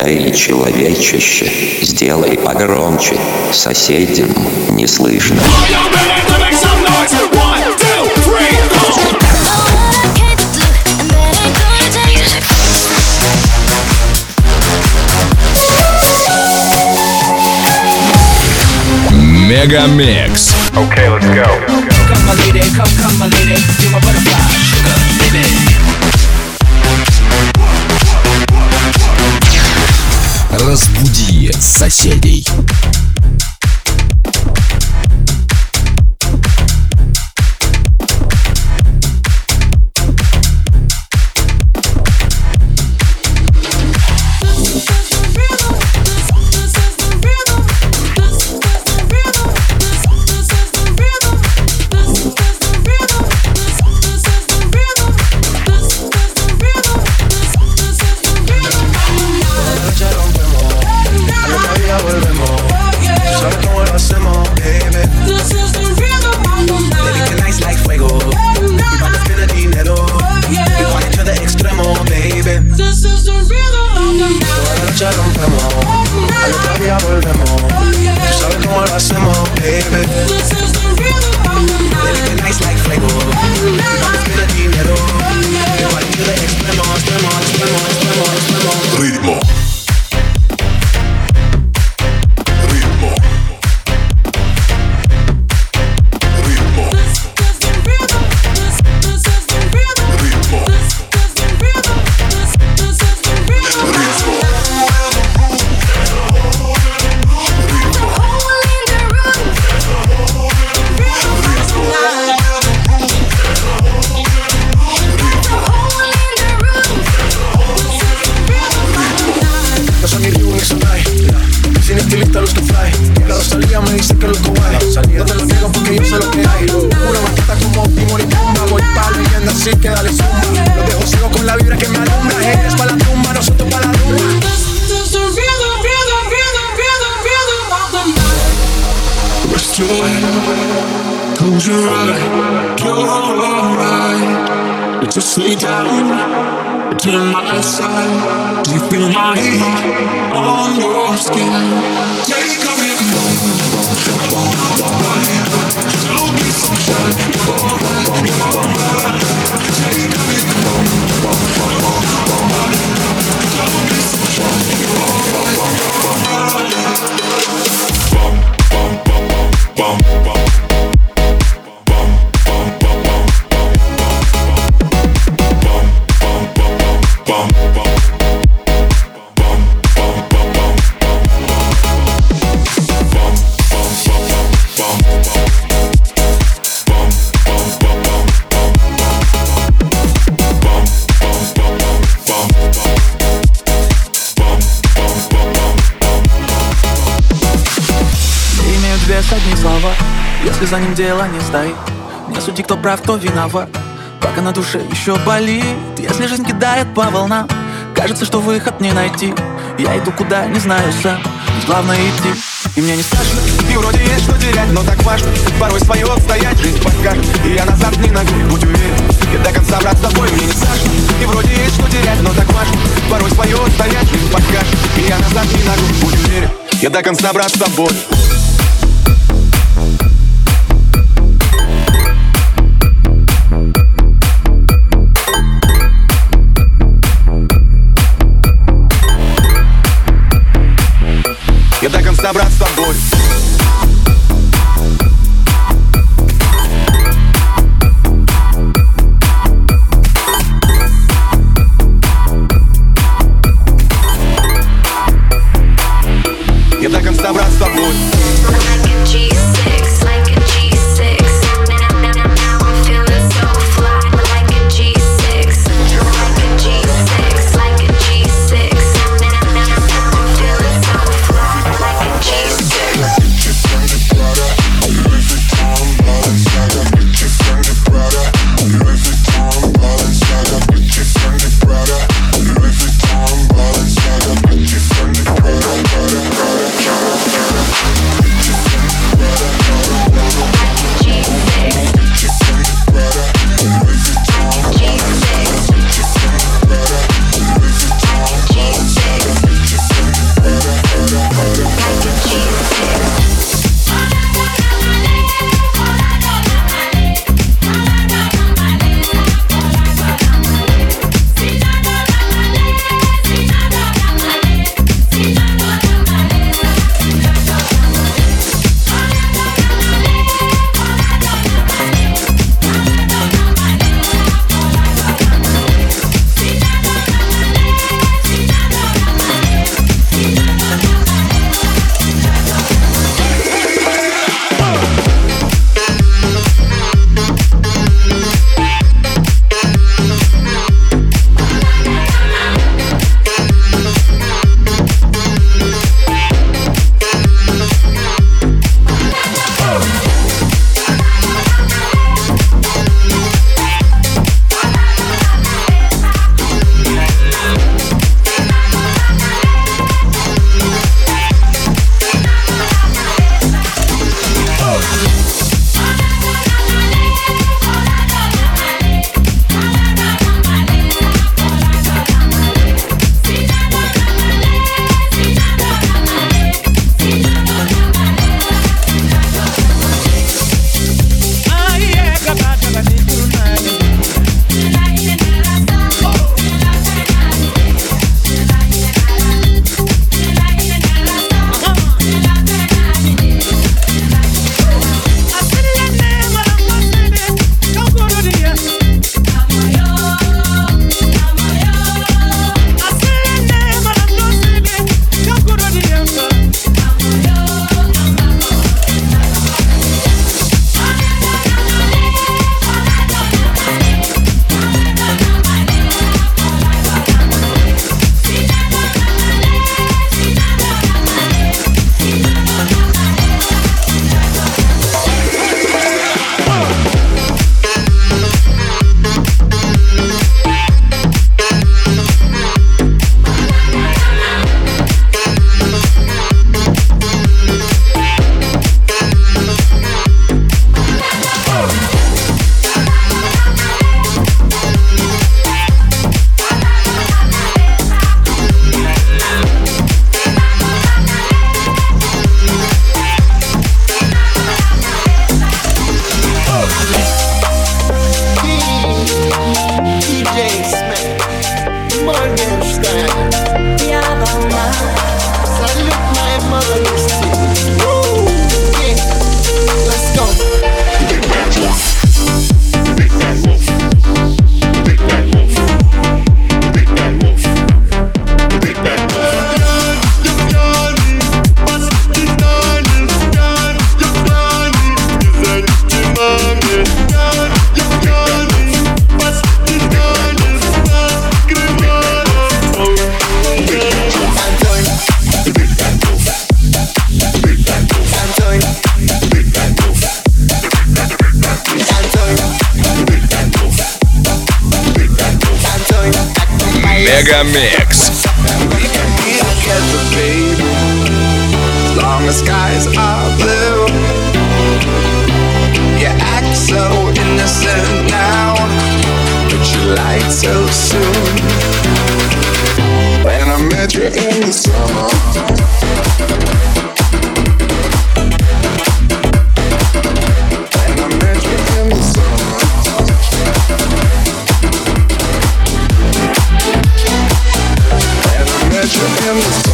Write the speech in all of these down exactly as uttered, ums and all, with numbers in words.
Эй, человечище, сделай погромче, соседям не слышно. Мегамикс. Okay, let's go. Come my lady, come, come my lady, you're my butterfly, sugar, baby. Разбуди соседей. Ritmo. Close your eyes, you're alright. Just lay down to my side. Do you feel my heat on your skin? Take a big moment. Don't be so shy. You're alright, you're alright. Take a big moment. Don't be so shy. You're alright, you're alright. Bum, bum, bum, bum, bum. Одни слова, если за ним дело не стоит. Не суди, кто прав, кто виноват. Пока на душе еще болит. Если жизнь кидает по волнам, кажется, что выход не найти. Я иду куда, не знаю сам. Ведь главное идти. И мне не страшно, и вроде есть что терять, но так важно порой свое отстоять. Жизнь подскажет, и я назад не ногу. Будь уверен, я до конца, брат, с тобой. Мне не страшно, и вроде есть что терять, но так важно порой свое отстоять. Жизнь подскажет, и я назад не ногу. Будь уверен, я до конца, брат, с тобой. Я до конца, брат, с тобой. Я до конца, брат, с тобой. G six. Мегамикс. Long as skies are blue, you act so innocent now, but you lied so soon. When I met you in the summer, when I met you in the summer, when I met you in the summer.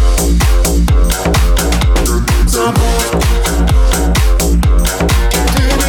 Ты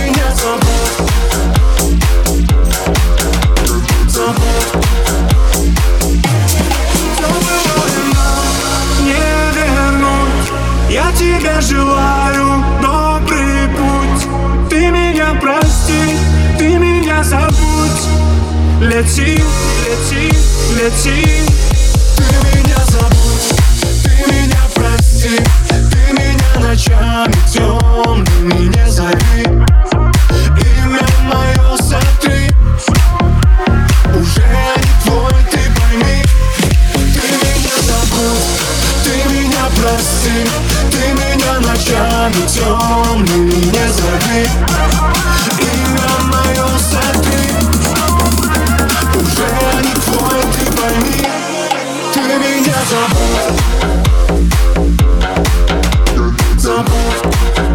Лети, лети, лети. Ты меня забудь, ты меня прости. Ты меня ночами темными не зови. Имя мое сотри. Уже не твой, ты пойми. Ты меня забудь, ты меня прости. Ты меня ночами темными не зови. Имя мое сотри. Уже не твой, ты пойми. Ты меня забудь. Забудь.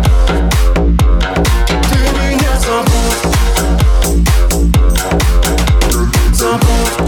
Ты меня забудь. Забудь.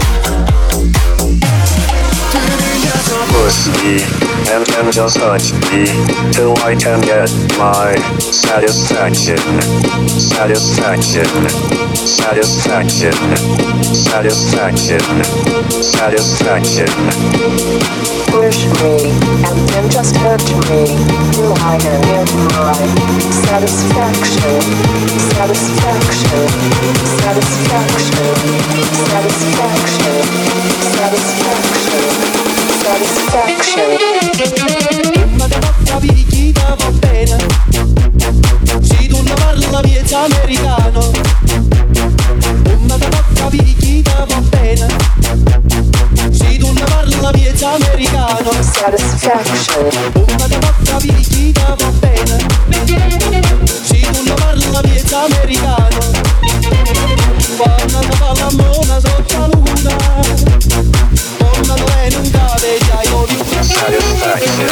Ты меня забудь. Push me and then just touch me till I can get my satisfaction, satisfaction, satisfaction, satisfaction, satisfaction. Push me and then just hurt me till I can get my satisfaction, satisfaction, satisfaction, satisfaction, satisfaction, satisfaction. Ma da bocca picchita va bene. Se tu non parla miezza americano. Ma da bocca picchita va bene. Se tu non parla miezza americano. Satisfaction. Ma da bocca picchita va bene. Se tu non parla miezza americano. Quando si fa l'amore sotto la luna. Quando lei non cade già io di Satisfaction.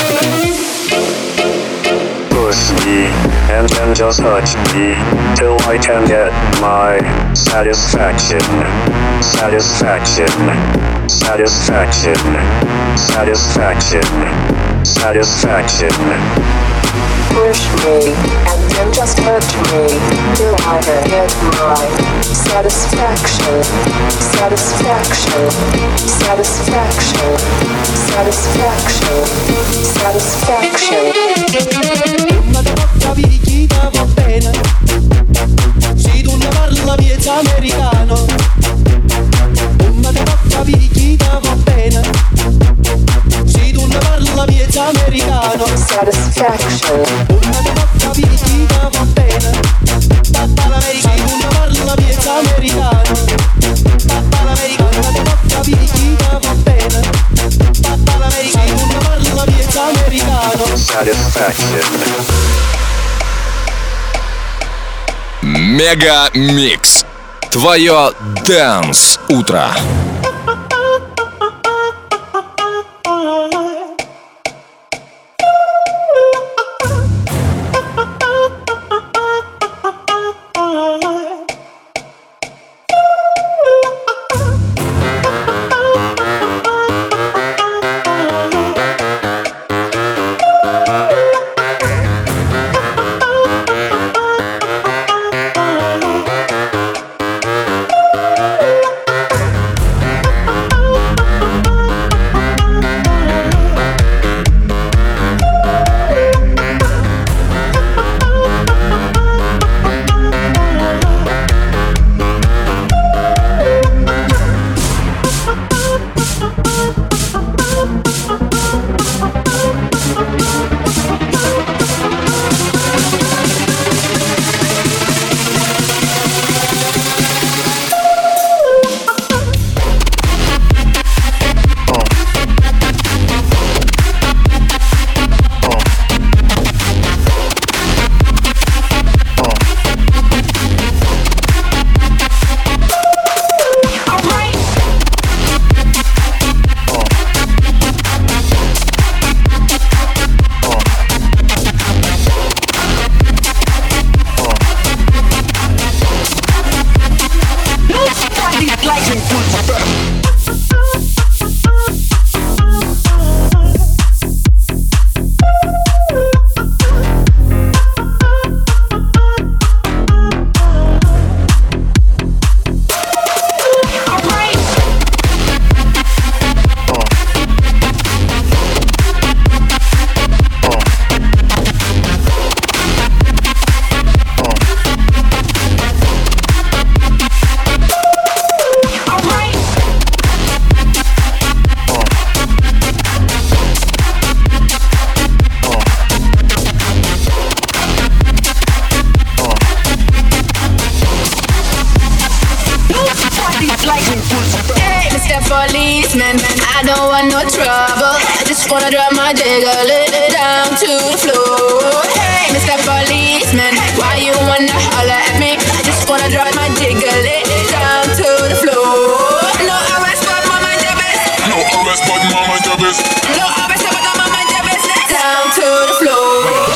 Push me and then just touch me till I can get my satisfaction, satisfaction, satisfaction, satisfaction, satisfaction. Push me and then just hurt me till I can get my satisfaction, satisfaction, satisfaction, satisfaction, satisfaction. Ma da bocca picchita va bene. Se tu ne parla miezza americano. Ma da bocca picchita va bene. Se tu ne parla miezza americano. Satisfaction. Ma da bocca picchita va bene. Papà l'americano. Se tu ne parla miezza americano. Papà l'americano. Ma da bocca picchita va bene. Papà l'americano. Se tu ne parla miezza americano. Satisfaction. Мега Микс. Твое Dance утро. Hey, Mister Policeman, I don't want no trouble. I just wanna drop my jiggle it down to the floor. Hey, Mister Policeman, why you wanna holler at me? I just wanna drop my jiggle it down to the floor. No arrest, but mama jabez. No arrest, but mama jabez. No arrest, but mama jabez. Down to the floor.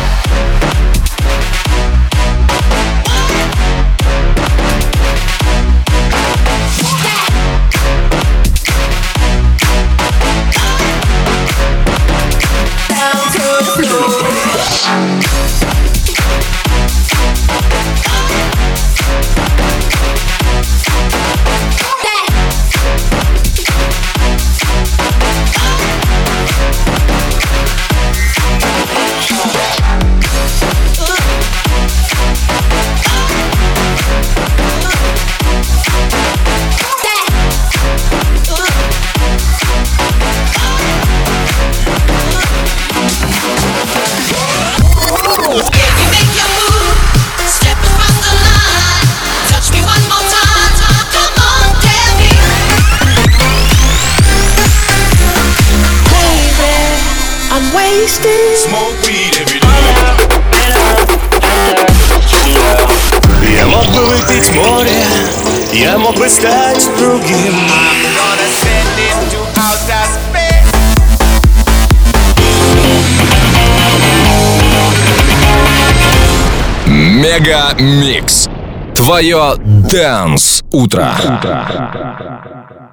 Smoke weed every day. Я мог бы выпить море, я мог бы стать другим. I'm gonna send it to outer space. Мега Микс. Твое Dance утро.